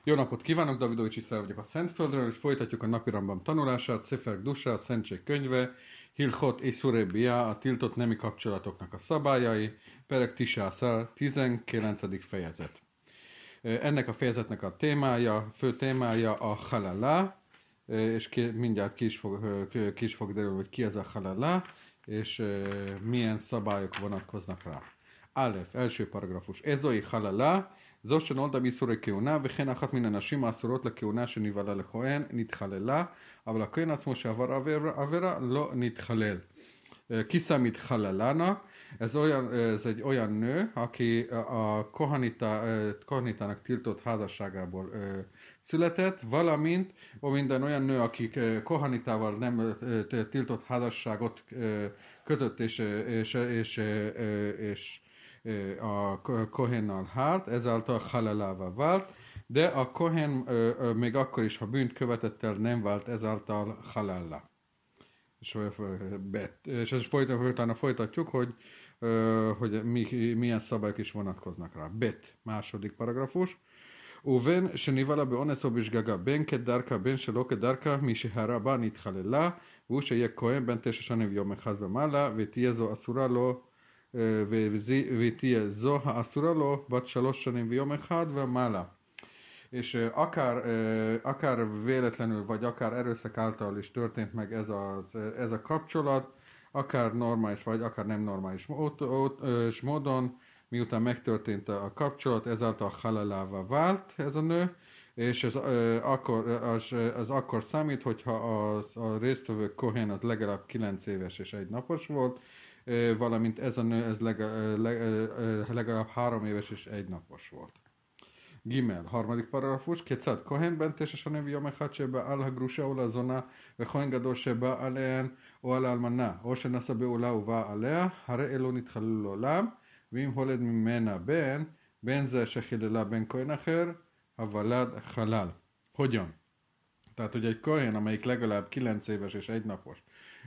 Jó napot kívánok, Davidovics Iszár vagyok a Szentföldről, és folytatjuk a napirambam tanulását, Szefer Gdusha, a Szentség könyve, Hilchot Iszuré Bia, a tiltott nemi kapcsolatoknak a szabályai, Perek Tisászár, 19. fejezet. Ennek a fejezetnek a témája, fő témája a halala, és mindjárt ki is fog derülni, hogy ki ez a halala, és milyen szabályok vonatkoznak rá. Aleph, első paragrafus. Ezoi halala, זו שנולדה באיסורי כהונה, וכן אחת מן הנשים האסורות לכהונה שנבעלה לכהן נתחללה, אבל הכהן עצמו שעבר עבירה לא נתחלל. Ki számít halalának? Ez egy olyan nő, aki a kohanitának tiltott házasságából született, valamint minden olyan nő, aki kohanitával nem tiltott házasságot kötött és a kohennal hált, ezáltal halalává vált, de a kohen még akkor is, ha bűnt követett el, nem vált ezáltal halalla. És ezt utána folytatjuk, hogy milyen szabályok is vonatkoznak rá. Bet, második paragrafus. ובין שניבלה באונס או בשגגה, בין כדרכה בין שלא כדרכה, מי שהרבה נתחללה, והוא שיהיה כהן בין 9 שנים ויום אחד ומעלה, ותהיה זו אסורה לו ותהיה זו האסורה לו בת 3 שנים ויום אחד ומעלה. És akár véletlenül, vagy akár erőszak által is történt meg ez a kapcsolat, akár normális, vagy akár nem normális módon, miután megtörtént a kapcsolat, ezáltal halalává vált ez a nő, és ez akkor számít, hogyha a résztvevő kohén az legalább 9 éves és 1 napos volt, valamint ez a nő ez legalább 3 éves és 1 napos volt. Gimel, harmadik paragrafus, כיצד כהן בן 9 שנים ויום אחד שבא על הגרושה או לזונה וכהן גדול שבא עליהן או על האלמנה או שנשא בעולה ובא עליה, הרי אלו נתחללו לעולם, ואם הולד ממנה בן זה שחיללה בן כהן אחר, הוולד חלל. Hogyan? Tehát, hogy egy kohén, amelyik legalább 9 éves és 1 napos,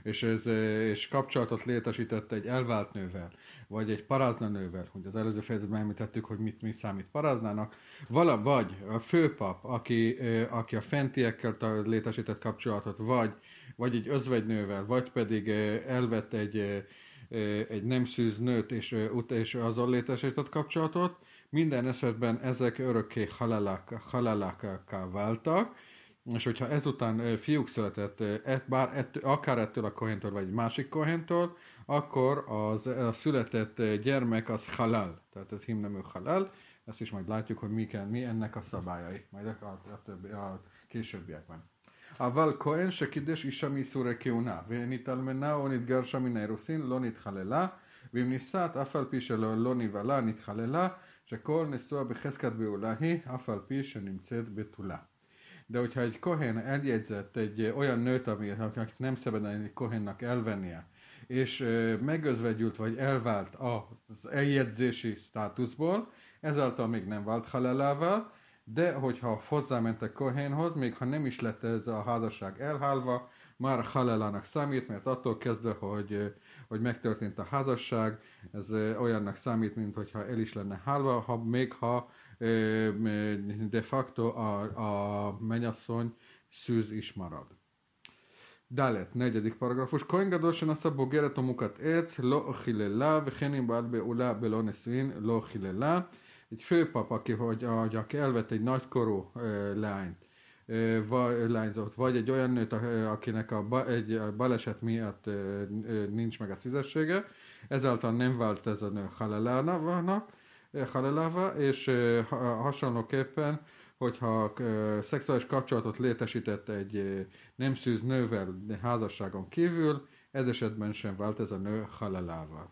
és kapcsolatot létesített egy elvált nővel, vagy egy parázna nővel, hogy az előző fejezetben említettük, hogy mi számít paráznának, vagy a főpap, aki a fentiekkel létesített kapcsolatot, vagy egy özvegynővel, vagy pedig elvett egy nem szűz nőt, és azon létesített kapcsolatot, minden esetben ezek örökké halalákká váltak, és hogyha ezután fiúk született, akár ettől a kohéntől, vagy egy másik kohéntől, akkor a született gyermek az halal, tehát ez himnemű halal, ezt is majd látjuk, hogy mi ennek a szabályai, majd a későbbiekben. אבל כהן שקידש אישה מאיסורי כהונה, ונתאלמנה או נתגרשה מן האירוסין, לא נתחללה, ואם נישאת, אף על פי שלא נבעלה, נתחללה, שכל נשואה בחזקת בעולה היא, אף על פי שנמצאת בתולה. De hogyha egy kohén eljegyzett egy olyan nőt, akit nem szabad egy kohénnak elvennie, és megözvegyült vagy elvált az eljegyzési státuszból, ezáltal még nem vált halalával, de hogyha hozzámentek kohénhoz, még ha nem is lett ez a házasság elhálva, már halalának számít, mert attól kezdve, hogy megtörtént a házasság, ez olyannak számít, mint hogyha el is lenne hálva, még ha de facto a mennyasszony szűz is marad. Dalet, negyedik paragrafus. כהן גדול שנשא בוגרת או מוכת עץ, לא חיללה, וכן אם בעל בעולה בלא נישואין, לא חיללה. Egy főpap, aki elvett egy nagykorú lányzót, vagy egy olyan nőt, akinek egy baleset miatt nincs meg a szüzessége, ezáltal nem vált ez a nő halalává, és hasonlóképpen, hogyha szexuális kapcsolatot létesített egy nem szűz nővel házasságon kívül, ez esetben sem vált ez a nő halalává.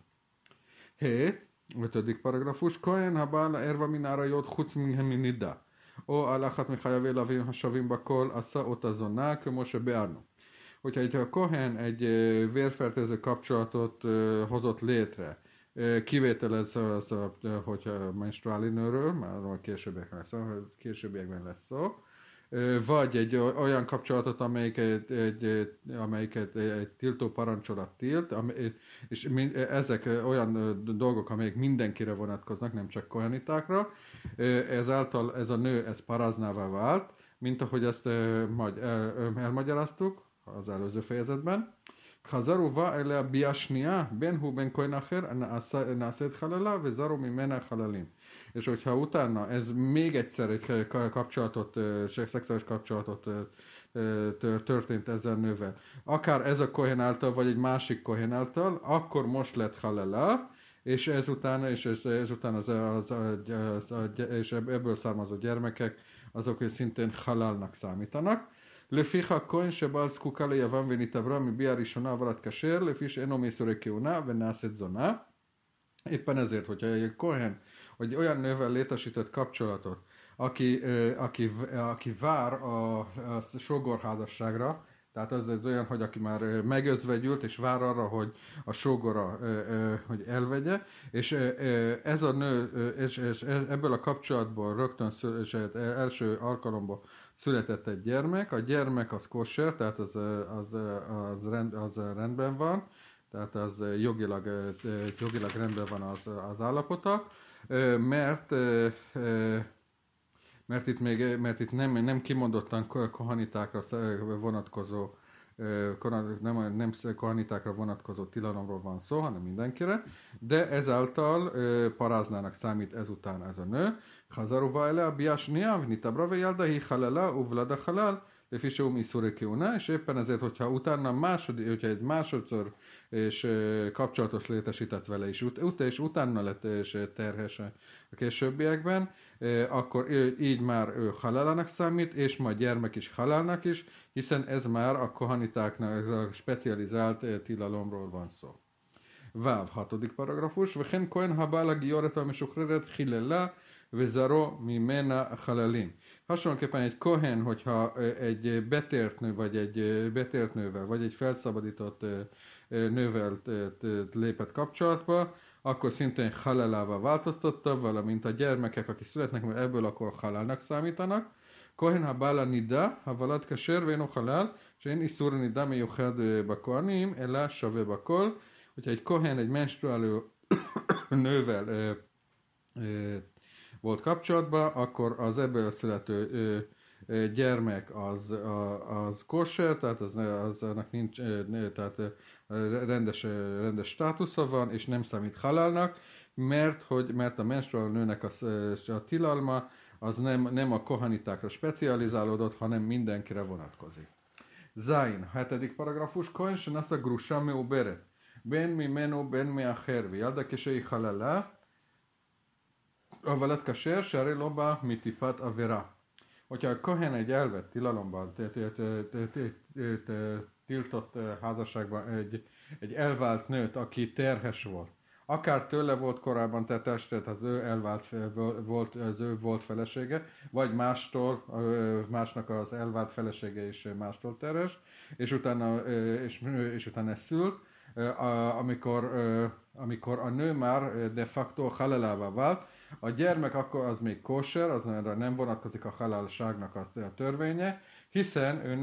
5. paragrafus, כהן הבא לערווה מן האריות חוץ מהנידה, או על אחת מחייבי לווים השווים בכל, עשה אותה זונה, כמו שביארנו. Hogyha a kohén egy vérfertőző kapcsolatot hozott létre, kivételez hogy menstruális nőről, már későbbiekben lesz szó, vagy egy olyan kapcsolatot, amelyiket egy tiltó parancsolat tilt, és ezek olyan dolgok, amelyek mindenkire vonatkoznak, nem csak kohenitákra. Ezáltal ez a nő, ez paraznává vált, mint ahogy ezt majd elmagyaráztuk az előző fejezetben. חזרו בה אליה ביאה שנייה, בין הוא בין כהן אחר, נעשית חללה, וזרו ממנה חללים. És hogyha utána ez még egyszer egy kapcsolatot, szexuális kapcsolatot történt ezzel nővel, akár ez a kohen által, vagy egy másik kohen által, akkor most lett halala, és ezután és ebből származó gyermekek, azok szintén halalnak számítanak. לפיכך כהן שבעל זקוקה ליבם ונתעברה מביאה ראשונה עברת כשר, לפי שאינו מאיסורי כהונה ונעשית זונה. Éppen ezért, hogyha egy kohen, hogy olyan nővel létesített kapcsolatot, aki vár a sógorházasságra, tehát az olyan, hogy aki már megözvegyült, és vár arra, hogy a sógora hogy elvegye, és ez a nő, és ebből a kapcsolatból rögtön első alkalomból született egy gyermek, a gyermek az kosher, tehát az rendben van, tehát az jogilag rendben van az állapota, mert itt nem kimondottan kohanitákra vonatkozó nem kohanitákra vonatkozó tilalomról van szó, hanem mindenkire, de ezáltal paráznának számít ezután ez a nő. Hazaruba ele bia shnia vnitabra vejelda hi halala uvlada halal לפי שהוא מאיסורי כהונה, és éppen ezért, hogyha utána hogyha egy másodszor és kapcsolatos létesített vele is, és utána lett és terhes a későbbiekben, akkor így már ő halálának számít, és majd gyermek is halálnak is, hiszen ez már a kohanitáknak specializált tilalomról van szó. Váv, 6. paragrafus, וכן כהן הבא לגיורת והמשוחררת חיללה וזרעו ממנה חללים. Hasonlóképpen egy kohen, hogyha egy betért nő, vagy egy betért nővel, vagy egy felszabadított nővel lépett kapcsolatba, akkor szintén halálává változtatta, valamint a gyermekek, akik születnek, mert ebből akkor halálnak számítanak. Kohen ha bála nida, ha valad kasher véno halál, és én is szúr nida miuchad bakoanim, elá save bakol, hogyha egy kohen egy menstruáló nővel volt kapcsolatban, akkor az ebből születő gyermek az kosher, tehát annak nincs, tehát rendes státusza van, és nem számít halálnak, mert a menstruáló nőnek a tilalma az nem a kohanitákra specializálódott, hanem mindenkire vonatkozik. Zain, 7. paragrafus, kohen שנשא גרושה מעוברת, בין ממנו בין מאחר, וידע כשהיא חללה, avalat kasher, שהרי לא בא מטיפת עבירה. Hogyha a kohen egy elvett tilalomban, tiltott házasságban egy elvált nőt, aki terhes volt, akár tőle volt korábban tettes, tehát az ő volt felesége, vagy másnak az elvált felesége is mástól terhes, és utána szült, amikor a nő már de facto halálává vált, a gyermek akkor az még kóser, az nem vonatkozik a halálságnak a törvénye, hiszen ő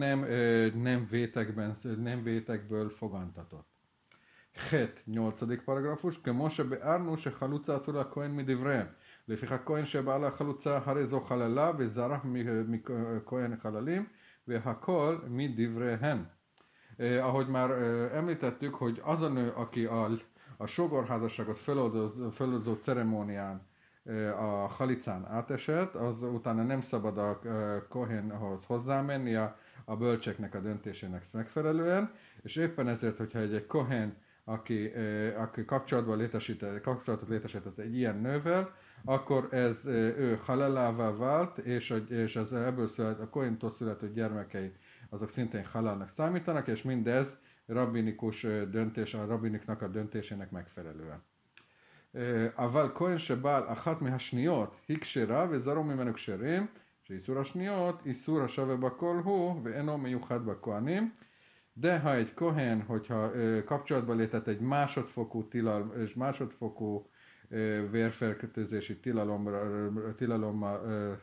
nem vétekből fogantatott. 8. paragrafus, כמו שבארנו שחלוצה אסור לכהן מדבריהם, לפיכך הכהן שבא לחלוצה הרי זו חללה וזרח מכהן חללים, והכל מדבריהם. Ahogy már említettük, hogy az a nő, aki a sógorházasságot feloldó ceremónián a halicán átesett, az utána nem szabad a kohenhoz hozzámenni a bölcseknek a döntésének megfelelően, és éppen ezért, hogyha egy kohen, aki kapcsolatot létesített egy ilyen nővel, akkor ő halálává vált, és az ebből a kohentól születő gyermekei azok szintén halálnak számítanak, és mindez rabbinikus döntés, a rabbiniknak a döntésének megfelelően. אבל כהן שבעל אחת מהשניות היא כשרה וזרעו ממנו כשרים, שאיסור השניות איסור השווה בכל הוא ואינו מיוחד בכהנים. De ha egy kohen, hogyha kapcsolatba lépett egy másodfokú és másodfokú vérfertőzési tilalommal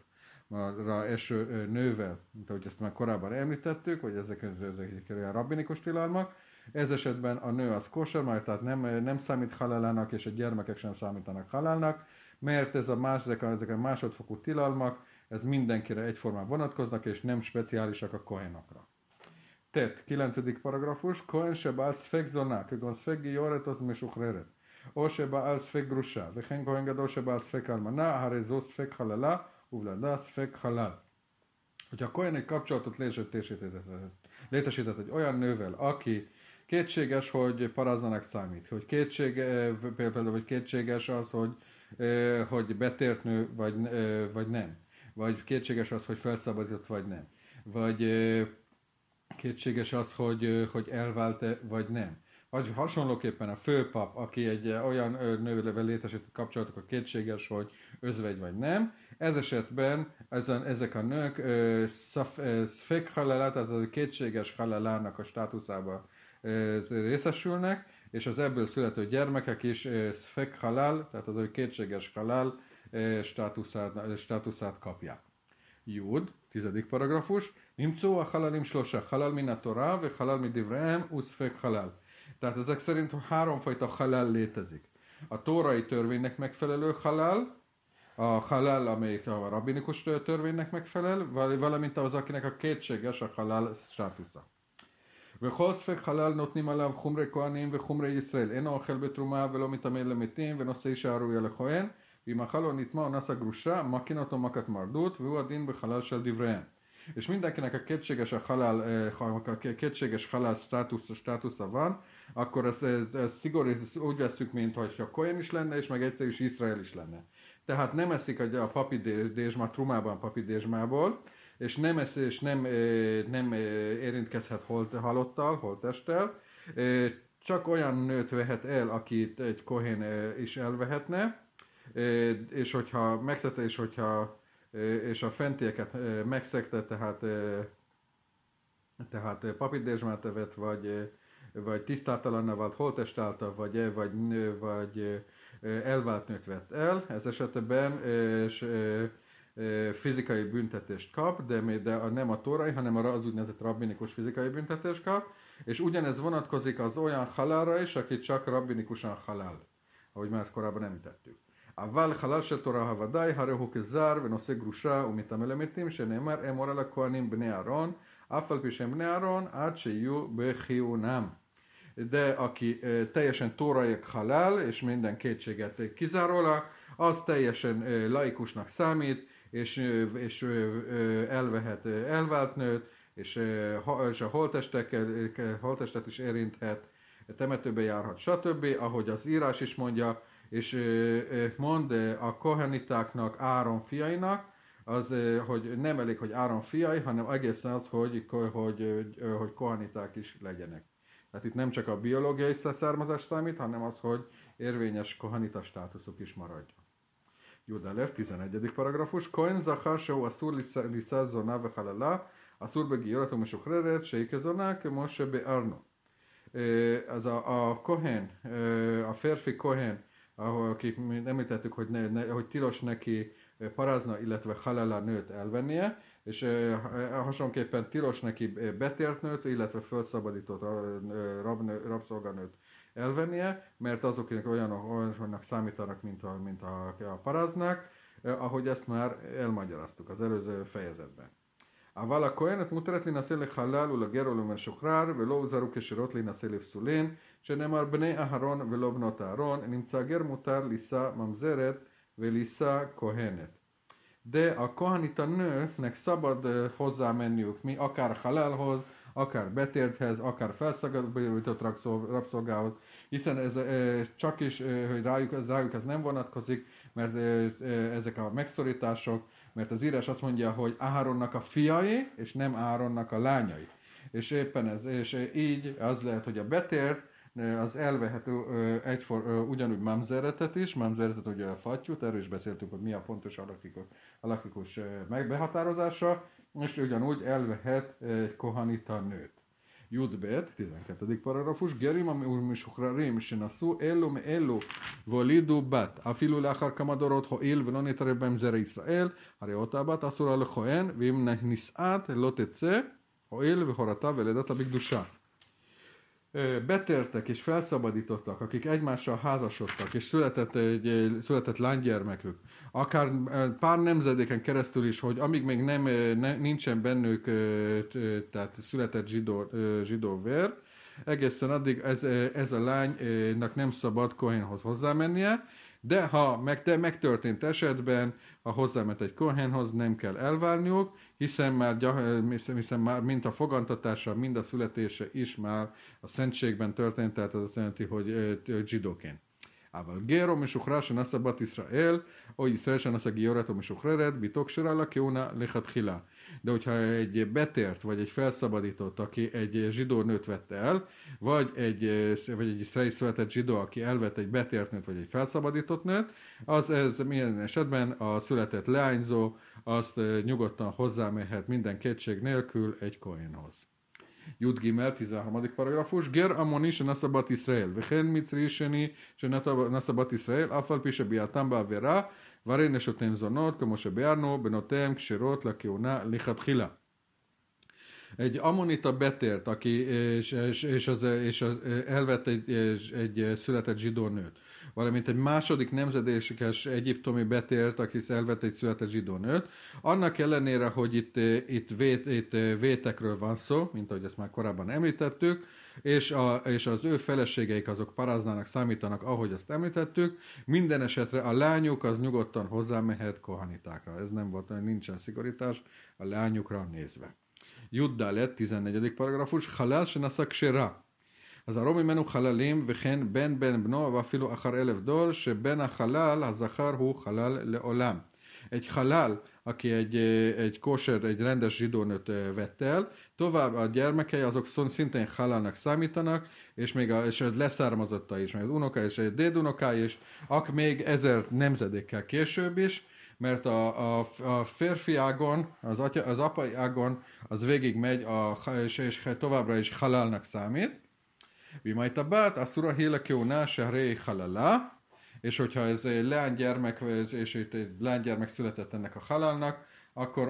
eső nővel, mint ahogy ezt már korábban említettük, hogy ezek olyan rabbinikus tilalmak. Ez esetben a nő az kosher, tehát nem számít halálának, és a gyermekek sem számítanak halálnak, mert ezek a másodfokú tilalmak, ez mindenkire egyformán vonatkoznak, és nem speciálisak a kohenokra. Tehát, 9. paragrafus, Kohen שבעל ספק זונה, כגון ספק גיורת או משוחררת, או שבעל ספק גרושה, וכן כהן גדול שבעל ספק אלמנה, הרי זו ספק חללה, ובלעדה ספek halál. Hogyha a Kohen egy kapcsolatot létesített egy olyan nővel, aki kétséges, hogy paraznának számít, hogy például kétséges az, hogy betért nő, vagy nem, vagy kétséges az, hogy felszabadított, vagy nem, vagy kétséges az, hogy elvált-e, vagy nem. Vagy hasonlóképpen a főpap, aki egy olyan nővel létesített kapcsolatok, a kétséges, hogy özvegy vagy nem. Ez esetben ezek a nők szfek halálá, tehát a kétséges halálának a státuszába részesülnek, és az ebből születő gyermekek is szfek halál, tehát az ő kétséges halál státuszát kapják. Jud, 10. paragrafus, Nimcó a halalim slosa, halal min a Torah, ve halal mi divreem, uszfek halál. Tehát ezek szerint háromfajta halál létezik. A tórai törvénynek megfelelő halál, a halál, amelyik a rabbinikus törvénynek megfelel, valamint az, akinek a kétséges a halál státusza. וכל ספק חלל נותנים עליו חומרי כהנים וחומרי ישראל. אינו אוכל בתרומה ולא מתעמד למתים ונושא אישה ראויה לכהן. ואם אכל או נטמא או נשא גרושה, מקין אותו מכת מרדות, והוא הדין בחלל של דבריהם. És mindenkinek a kétséges halál státusza van, akkor ez szigorú, úgy veszük, mint hogyha Kohen is lenne, és meg egyszer is Izrael is lenne. Tehát nem eszik a papi dézsma, trumában papi dézsmából, és nem érintkezhet halottal, holttesttel, csak olyan nőt vehet el, akit egy Kohen is elvehetne, és hogyha megszegte, és a fentieket megszegte, tehát papidézsmát evett, vagy tisztátalanná vált holttest által, vagy elvált nőt vett el, ez esetben fizikai büntetést kap, de nem a tórai, hanem az úgynevezett rabbinikus fizikai büntetést kap, és ugyanez vonatkozik az olyan halálra is, aki csak rabbinikusan halál, ahogy már korábban említettük. אבל חלל של תורה הוודאי, הרי הוא כזר ונושא גרושה ומטמא למתים, שנאמר אמור על הכהנים בני אהרון, אף על פי שהם בני אהרון, עד שיהיו בכיהונם. De aki teljesen tóraiak halál, és minden kétséget kizárólag, az teljesen laikusnak számít, és elvehet elvált nőt, és a holttestet is érinthet, temetőbe járhat, stb., ahogy az írás is mondja, és mond a kohenitáknak, Áron fiainak, az, hogy nem elég, hogy Áron fiai, hanem egészen az, hogy koheniták is legyenek. Tehát itt nem csak a biológiai származás számít, hanem az, hogy érvényes kohanita státuszuk is maradjon. Judalev, 11. paragrafus. Kohen zachar shehu asur lisa zona vechalala, asur begiorat u'meshuchreret, sheike zona, kemo shebe'arno. Az a kohen, a férfi kohen, akik említettük, hogy tilos neki parázna, illetve halálá nőt elvennie, és hasonlóképpen tilos neki betért nőt, illetve felszabadított rabszolganőt elvennie, mert azoknak olyanok számítanak, mint a paráznák, ahogy ezt már elmagyaráztuk az előző fejezetben. אבל הכהנת מותרת להינשא לחלל ולגר ולמשוחרר ולא הוזהרו כשירות להינשא לפסולין שנאמר בני אהרון ולא בנות אהרון נמצא גר מותר לישא ממזרת ולישא כהנת. De a kohanita nőknek szabad hozzámenniük akár halálhoz, akár betérthez, akár felszabadított rabszolgához, hiszen ez csak is, hogy rájuk ez nem vonatkozik, mert ezek a megszorítások, mert az írás azt mondja, hogy Áronnak a fiai, és nem Áronnak a lányai. És éppen ez, és így az lehet, hogy a betért, az elvehet ugyanúgy mamzeretet is, mamzeretet ugye a fattyút, erről is beszéltünk, hogy mi a pontos alakikus megbehatározása, és ugyanúgy elvehet egy kohanita nőt. Judbet, 12. paragrafus, Gerim המשוחררים שנשאו אלו מאלו והולידו בת, אפילו לאחר כמה דורות הואיל ולא נתערב בהם זרע ישראל, הרי אותה בת אסורה לכהן, ואם נישאת לא תצא, הואיל והורתה ולידתה בקדושה. Betértek és felszabadítottak, akik egymással házasodtak, és született lánygyermekük, akár pár nemzedéken keresztül is, hogy amíg még nincsen bennük tehát született zsidó vér, egészen addig ez a lánynak nem szabad kohénhoz hozzámennie, de ha megtörtént esetben, ha hozzáment egy kohénhoz, nem kell elvárniuk, hiszen már mind a fogantatása, mind a születése is már a szentségben történt, tehát az azt jelenti, hogy zsidóként. אבל גר משוחרר שנשא בת ישראל, או ישראל שנשא גיורת או משוחררת, ביתו כשרה לכהונה לכתחילה. De hogyha egy betért, vagy egy felszabadított, aki egy zsidó nőt vette el, vagy egy iszraeli született zsidó, aki elvett egy betért nőt, vagy egy felszabadított nőt, ez minden esetben a született leányzó, azt nyugodtan hozzámehet minden kétség nélkül egy kohénhoz. Jud Gimel, 13. paragrafus, Ger Amoni שנשא בת ישראל, וכן מצרי שני שנשא בת ישראל, אף על פי שביאתם בעבירה, והרי נשותיהם זונות, כמו שביארנו, בנותיהם כשרות לכהונה לכתחילה. Egy ammonita betért, aki és elvett egy született zsidó nőt, valamint egy második nemzedékes egyiptomi betért, aki elvett egy született zsidó nőt, annak ellenére, hogy itt vétekről van szó, mint ahogy ezt már korábban említettük, és az ő feleségeik azok paraznának számítanak, ahogy azt említettük, minden esetre a lányuk az nyugodtan hozzámehet kohanitákra. Ez nem volt, nincsen szigorítás a lányukra nézve. Juddalet, 14. paragrafus, חלל שנשא כשרה. אז הרוב ממנו חללים וכן בן בנו ואפילו אחר 1000 דור, שבן החלל הזכר הוא חלל לעולם. Egy halál, aki egy kóser, egy rendes zsidónőt vett el, tovább a gyermekei azok szintén halálnak számítanak, és még és a leszármazotta is, meg az unoka és egy dédunoká is, még 1000 nemzedékkel később is, mert a férfi ágon, az apai ágon, az végig megy, és továbbra is halálnak számít. Vimajt a bát, a szura héle kőná, se ré halala, és hogyha ez egy leánygyermek, és egy leánygyermek született ennek a halálnak, akkor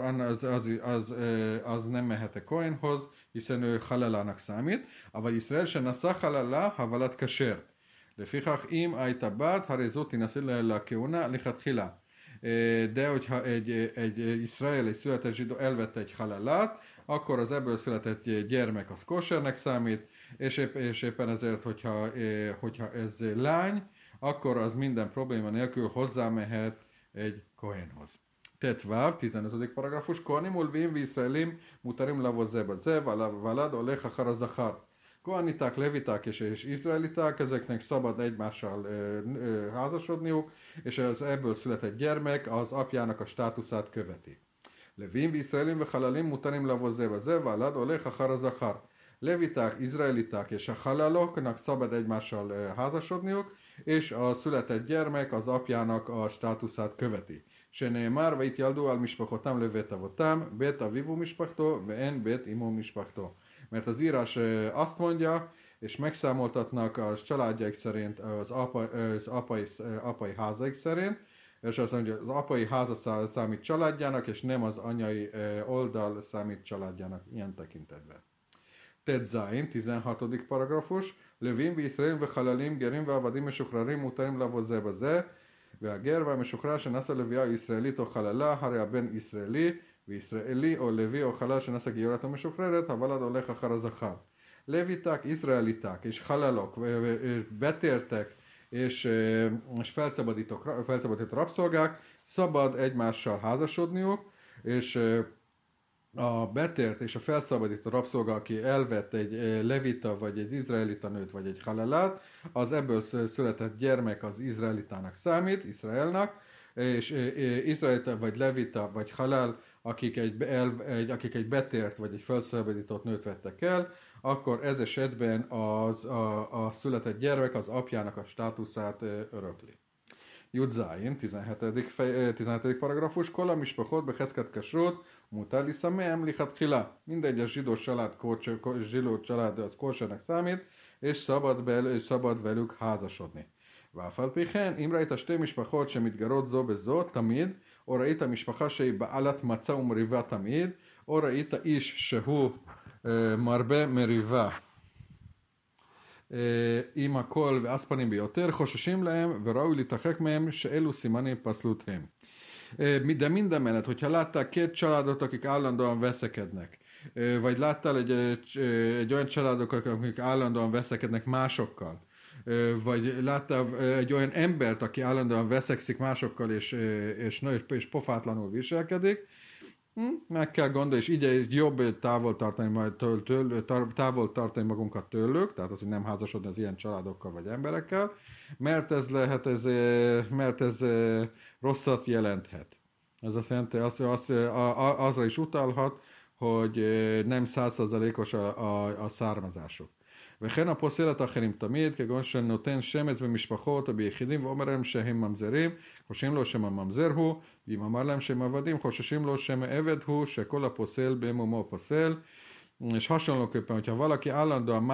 az nem mehet a kohénhoz, hiszen ő halalának számít. Aval Iszrael se naszá halala, havalat kasher. לפיכך אם הייתה בת, הרי זאת תינשא לכהונה לכתחילה. De hogyha egy iszrael, egy született zsidó elvette egy halálát, akkor az ebből született gyermek az kósernek számít, és éppen ezért, hogyha ez lány, akkor az minden probléma nélkül hozzámehet egy kohénhoz. Tetváv, 15. paragrafus, kohanim ulvim viszraelim mutarim lavot zeba zev, valad olech achar a zachar. Kohaniták, leviták és izraeliták, ezeknek szabad egymással házasodniuk, és az ebből született gyermek az apjának a státuszát követi. Levim, viszraelim ve halalim mutarim lavot zeba zev, valad olech achar a zachar. Leviták, izraeliták és a halaloknak szabad egymással házasodniuk, és a született gyermek az apjának a státuszát követi. שנאמר ויתיילדו על משפחותם לבית אבותם, בית אביו משפחתו ואין בית אמו משפחתו. Mert az írás azt mondja, és megszámoltatnak a családjaik szerint, az apai házaik szerint, és azt mondja, az apai háza számít családjának, és nem az anyai oldal számít családjának ilyen tekintetben. Tetzain, 16. paragrafus, לווים וישראל וחללים גרים ועבדים משוחררים מותרים לעבוד זה בזה, והגר והמשוחרר שנשא לוויה ישראלית או חללה, הרי הבן ישראלי, וישראלי או לוי או חלל שנשא גיורת או משוחררת, הוולד הולך אחר הזכר. לויták, izraeliták és halalok, betértek és felszabadított rabszolgák szabad egymással házasodniuk, és a betért és a felszabadított rabszolga, aki elvett egy levita, vagy egy izraelita nőt, vagy egy halalát, az ebből született gyermek az izraelitának számít, Izraelnak, és izraelita, vagy levita, vagy halál, akik egy betért, vagy egy felszabadított nőt vettek el, akkor ez esetben a született gyermek az apjának a státuszát örökli. Judzáin, 17. paragrafus, Kola Mispachot Beheszket Kasrut, Mutar Liszamem Lichat Hila. Mindegy, a zsidó család az kósernek számít, és szabad velük házasodni. Váfalpichen, Imraita Sté Mispachot שמתגרות זו בזו תמיד, או ראית משפחה שהיא בעלת מצה ומריבה תמיד, או ראית איש שהוא מרבה מריבה עם הכל ואספנים ביותר, חוששים lהם וראוי להתרחק mהם, שאלו סימנים פסלות הם. De minden mellett, hogyha láttál két családot, akik állandóan veszekednek, vagy láttál egy olyan családot, akik állandóan veszekednek másokkal, vagy láttál egy olyan embert, aki állandóan veszekszik másokkal, és pofátlanul viselkedik, meg kell gondolni, és így jobb távol tartani magunkat tőlük, tehát az, hogy nem házasodni az ilyen családokkal vagy emberekkel, mert ez rosszat jelenthet. Ez azt jelenti, azra is utalhat, hogy nem 100%-os a származásuk. וכן הפוסל את האחרים תמיד, כגון שנותן שמץ במשפחות או ביחידים ואומר להם שהם ממזרים, חוששים לו שם הממזר הוא, ואם אמר להם שהם עבדים, חוששים לו שם עבד הוא, שכל הפוסל במומו פוסל. És hasonlóképpen, hogyha valaki állandóan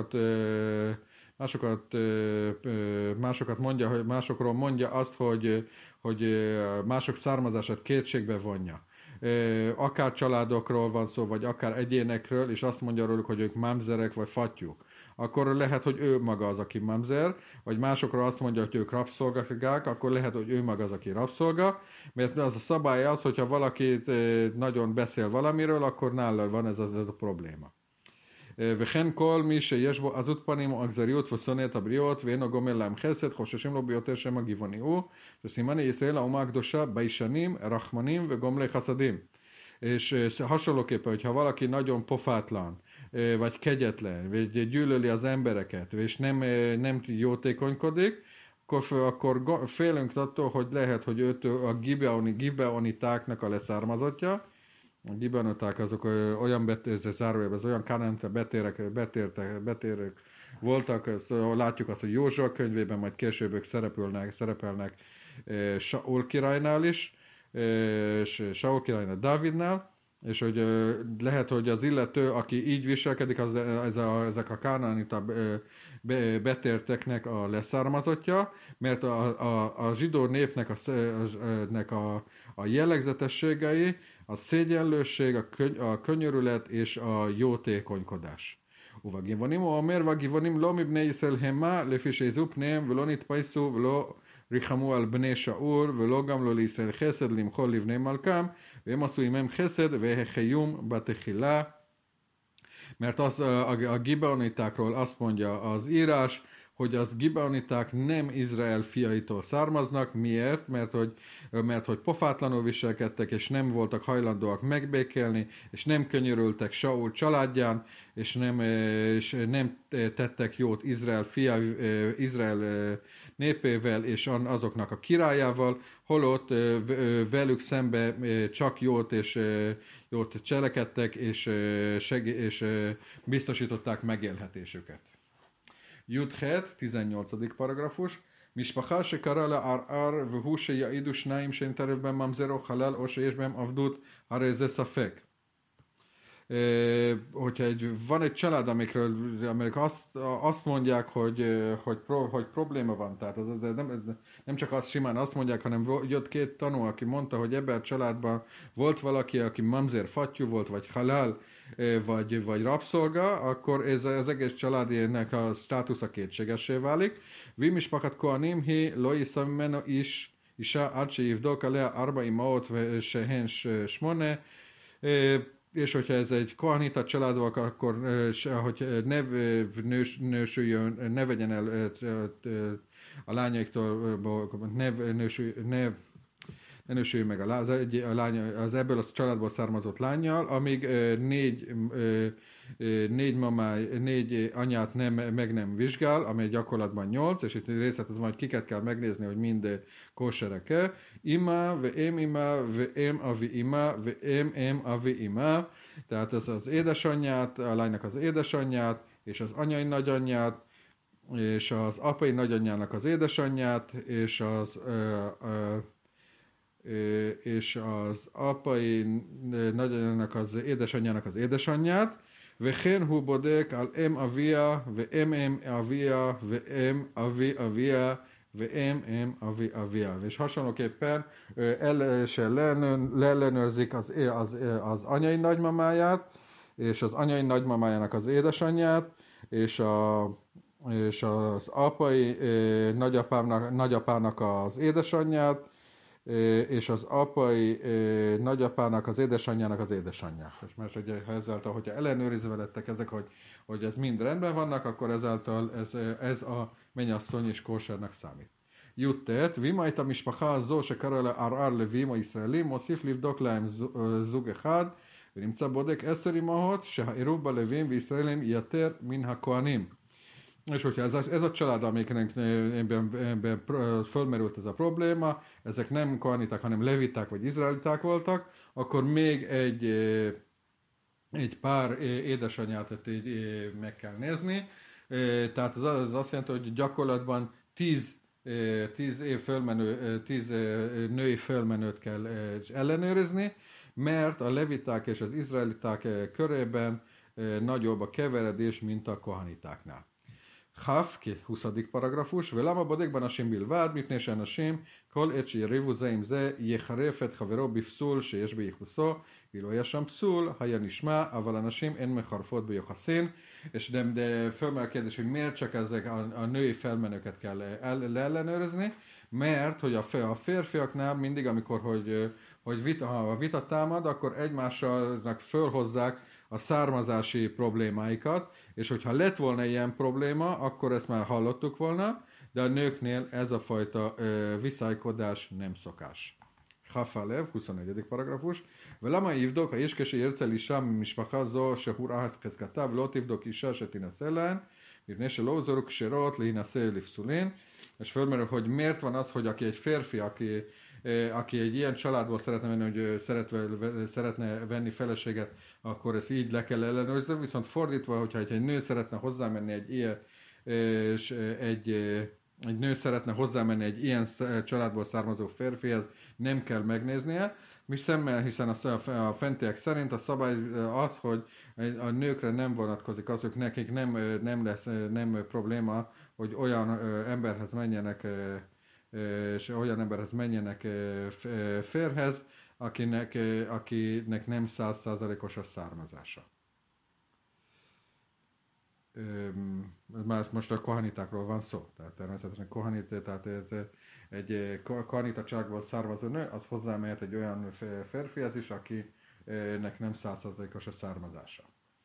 másokat mondja, hogy másokról mondja azt, hogy mások származását kétségbe vonja. Akár családokról van szó, vagy akár egyénekről, és azt mondja róluk, hogy ők mamzerek vagy fattyúk, akkor lehet, hogy ő maga az, aki mamzer, vagy másokról azt mondja, hogy ők rabszolgák, akkor lehet, hogy ő maga az, aki rabszolga, mert az a szabály az, hogyha valaki nagyon beszél valamiről, akkor nála van ez a probléma. וכן כל מי שיש בו עזות פנים או אכזריות ושונא את הבריות ואינו גומל להם חסד, חוששים לו ביותר שם הגבעוני הוא, שסימני ישראל האומה הקדושה ביישנים, רחמנים וגומלי חסדים. És hasonlóképpen, hogyha valaki nagyon pofátlan, vagy kegyetlen, vagy gyűlöli az embereket, és nem jótékonykodik, akkor félünk attól, hogy lehet, hogy őt a gibeonitáknak a leszármazottja. A gibeoniták azok olyan zárójelben, az olyan kanánta betérek voltak, látjuk azt, hogy Józsua könyvében, majd később ők szerepelnek Saul királynál is, és Saul királynál Dávidnál, és hogy lehet, hogy az illető, aki így viselkedik, ezek a kánánita betérteknek a leszármazottja, mert a zsidó népnek a jellegzetességei, a szégyenlőség, a könyörület és a jótékonykodás. ובגבעונים הוא אומר, והגבעונים לא מבני ישראל המה, לפי שיזו פניהם ולא נתפייסו ולא ריחמו על בני שאול, ולא גם לא לישראל חסד למחול לבני מלכם, והם עשו עמם חסד והחיום בתחילה. Mert a gibeonitákról azt mondja az írás, hogy az gibeoniták nem Izrael fiaitól származnak. Miért? Mert hogy pofátlanul viselkedtek, és nem voltak hajlandóak megbékélni, és nem könyörültek Saul családján, és nem tettek jót Izrael népével, és azoknak a királyával, holott velük szembe csak jót cselekedtek, és biztosították megélhetésüket. Judhet, 18. paragrafus. משפחה שקרא לערער והוא שיעידו שניים שאין תערב בהם ממזר או חלל או שיש בהם עבדות, הרי זה ספק. Hogyha van egy család, amelyek azt mondják, hogy probléma van, tehát nem csak azt simán azt mondják, hanem jött két tanú, aki mondta, hogy ebben a családban volt valaki, aki mamzer fattyú volt, vagy halál, vagy rabszolga, akkor ez az egész családének a státusza kétségessé válik. Vimispakat koanim hi lo yiszam mimeno isha ad sheyivdok alea arba imaot shehen shmone. És hogyha ez egy kohanita család, akkor hogy ne vegyen el a lányaiktól, ne nősülj meg a lány, az ebből a családból származott lányjal, amíg négy anyát meg nem vizsgál, amely gyakorlatban 8, és itt részletesen majd kiket kell megnézni, hogy mind kóserek-e. Ima, ve em avi ima, ve em avi ima. Tehát ez az édesanyját, a lánynak az édesanyját, és az anyai nagyanyját, és az apai nagyanyjának az édesanyját, és az apai nagyanyjának az édesanyjának az édesanyját, וכן הוא בודק על אם אביה ואם אביה ואם אבי אביה ואם אבי אביה. És hasonlóképpen leellenőrzik az anyai nagymamáját, és az anyai nagymamájának az édesanyját, és az apai nagyapának az édesanyját, és az apai nagyapának az édesanyjának az édesanyját. És mert ugye, ezáltal, hogyha ellenőrizve lettek ezek, hogy ez mind rendben vannak, akkor ezáltal ez a mennyasszony és kósernek számít. י"ט, ואם הייתה משפחה הזו שקרא לה ערער לווים או ישראלים, מוסיף לבדוק להם זוג אחד, ונמצא בודק 10 אמהות שהעירוב בלווים וישראלים יתר מן הכהנים. És hogyha ez a család, amiknek fölmerült ez a probléma, ezek nem kohaniták, hanem leviták vagy izraeliták voltak, akkor még egy pár édesanyját így meg kell nézni. Tehát az azt jelenti, hogy gyakorlatban 10 női fölmenőt kell ellenőrizni, mert a leviták és az izraeliták körében nagyobb a keveredés, mint a kohanitáknál. כ' 20 פרגרפוש, ולמה בודק באנשים בלבד? מפני שאנשים, כל עת שיריבו זה עם זה, יחרף את חברו בפסול שיש בייחוסו, ואילו היה שם פסול, היה נשמע, אבל אנשים אין מחרפות ביוחסין, és de fölmerül a kérdés, hogy miért csak ezek a női felmenőket kell leellenőrizni, mert hogy a férfiaknál mindig, amikor ha a vita támad, akkor egymásnak fölhozzák a származási problémáikat, és hogyha lett volna ilyen probléma, akkor ezt már hallottuk volna, de a nőknél ez a fajta viszálykodás nem szokás. Hafalev, 21. paragrafus. ולמה יבדוק האיש כשירצה לאישה ממשפחה זו שהוא ראה חזקתה ולא תבדוק אישה שתינשא להן, מפני שלא הוזרו כשרות להינשא לפסולין. És fölmerül, hogy miért van az, hogy aki egy férfi, aki egy ilyen családból szeretne menni, hogy szeretne venni feleséget, akkor ezt így le kell ellenőrizni, viszont fordítva, hogyha egy nő szeretne hozzámenni egy nő szeretne hozzámenni egy ilyen családból származó férfihez, nem kell megnéznie, hiszen a fentiek szerint a szabály az, hogy a nőkre nem vonatkozik az, hogy nekik nem probléma, hogy olyan emberhez menjenek férhez, akinek nem 100%-os a származása. Most a kohanitákról van szó, tehát természetesen tehát ez egy kohanitacságból származó nő, az hozzámehet egy olyan férfihez is, akinek nem 100%-os a származása.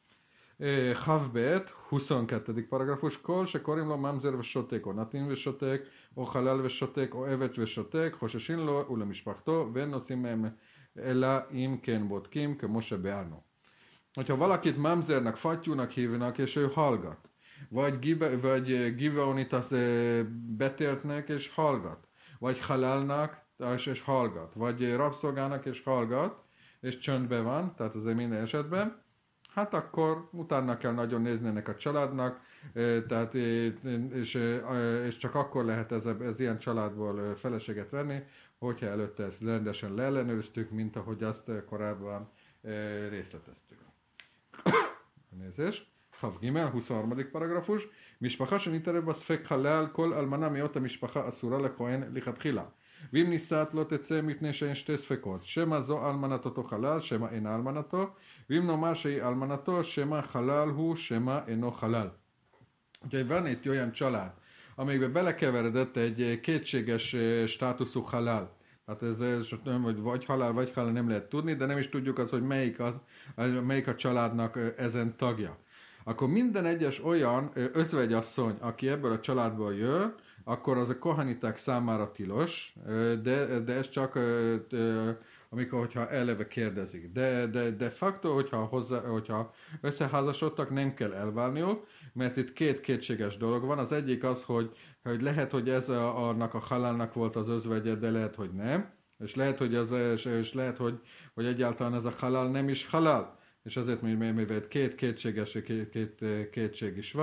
כ"ב, 22. פרגרפוש, כל שקוראים לו ממזר ושותק, או נתין ושותק, או חלל ושותק, או עבד ושותק, חוששים לו ולמשפחתו, ואין נושאים מהם אלא אם כן בודקים, כמו שביארנו. Hogyha valakit mamzernek, fattyúnak hívnak, és ő hallgat, vagy gibeonitas betértnek, és hallgat, vagy halálnak, és hallgat, vagy rabszolgának, és hallgat, és csöndben van, tehát azért minden esetben, hát akkor utána kell nagyon nézni ennek a családnak, tehát, és csak akkor lehet ez ilyen családból feleséget venni, hogyha előtte ezt rendesen leellenőriztük, mint ahogy azt korábban részleteztük. nézést. כ"ג, 23. פרגרפוש. משפחה שנתערב בספק חלל, כל אלמנה מאותה משפחה אסורה לכהן לכתחילה. ואם נישאת לא תצא מפני שאין שתי ספקות, שמא זו אלמנת אותו חלל, שמא אינה אלמנתו, ואם נאמר שהיא אלמנתו, שמא xalal הוא, שמא אינו חלל. Úgyhogy van itt olyan család, amelyikbe belekeveredett egy kétséges státuszú halál. Hát ez nem, hogy vagy halál, nem lehet tudni, de nem is tudjuk az, hogy melyik a családnak ezen tagja. Akkor minden egyes olyan özvegyasszony, aki ebből a családból jön, akkor az a kohaniták számára tilos, de ez csak hogyha eleve kérdezik. De facto, hogyha összeházasodtak, nem kell elválniuk, mert itt két kétséges dolog van. Az egyik az, hogy lehet, hogy ez annak a halálnak volt az özvegye, de lehet, hogy nem. És lehet, hogy egyáltalán ez a halál nem is halál. És azért, mivel két kétség is van,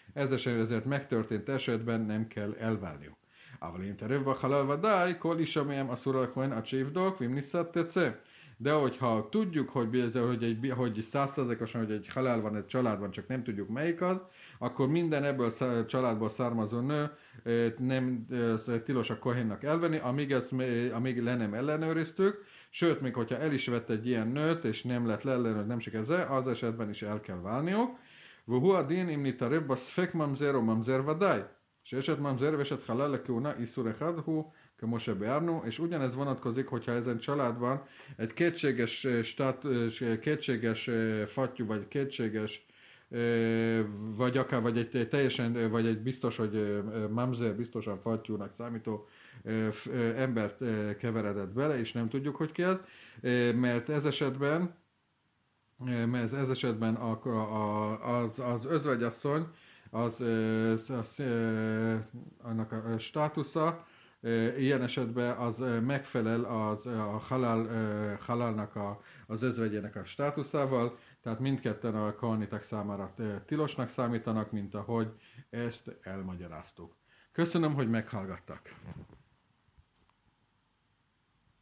ezért megtörtént esetben nem kell elválniuk. אבל אם תערב בחלל ודאי, כל אישה מהם אסור לכהן עד שיבדוק, ואם ניסת תצא. De hogyha tudjuk, hogy 100%-osan, hogy egy halál van egy családban, csak nem tudjuk melyik az, akkor minden ebből a családból származó nő nem tilos a kohénnak elvenni, amíg le nem ellenőriztük, sőt, még hogyha el is vett egy ilyen nőt, és nem lett leellenőrizni, nem sikerül, az esetben is el kell válniuk. והוא הדין אם נתערב בספק ממזר או ממזר ודאי. שאשת ממזר ואשת חלל לכהונה איסור אחד הוא כמו שביארנו, és ugyanez vonatkozik, hogyha ezen családban egy kétséges fattyú, vagy kétséges, vagy akár, vagy egy teljesen, vagy egy biztos, hogy mamzer, biztosan fattyúnak számító embert keveredett bele, és nem tudjuk, hogy ki az, mert ez esetben az özvegyasszony, annak a státusza, ilyen esetben az megfelel a halálnak az özvegyének a státuszával, tehát mindketten a kohaniták számára tilosnak számítanak, mint ahogy ezt elmagyaráztuk. Köszönöm, hogy meghallgattak!